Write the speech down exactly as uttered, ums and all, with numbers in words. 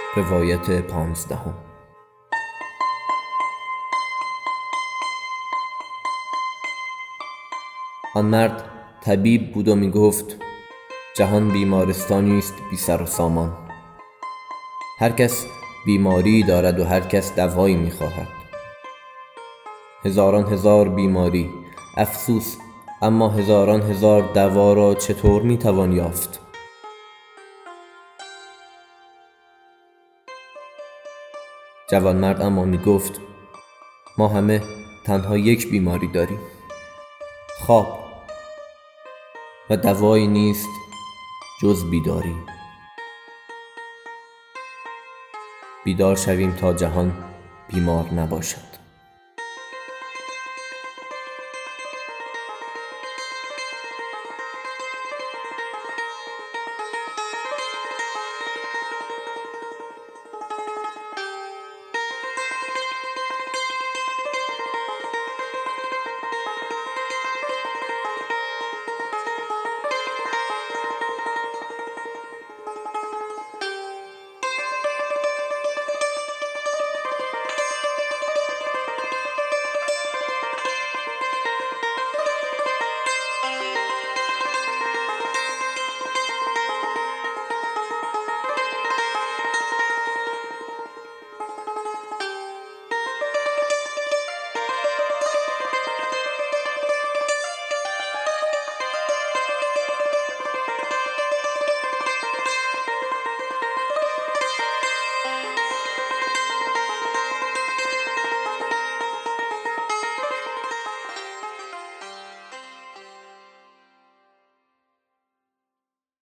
روایت پانزدهم. آن مرد طبیب بود و می گفت جهان بیمارستانی است بی سر و سامان. هر کس بیماری دارد و هر کس دوایی می خواهد. هزاران هزار بیماری، افسوس، اما هزاران هزار دوا را چطور می توان یافت؟ جوانمرد اما می گفت ما همه تنها یک بیماری داریم، خواب، و دوایی نیست جز بیداری. بیدار شویم تا جهان بیمار نباشد.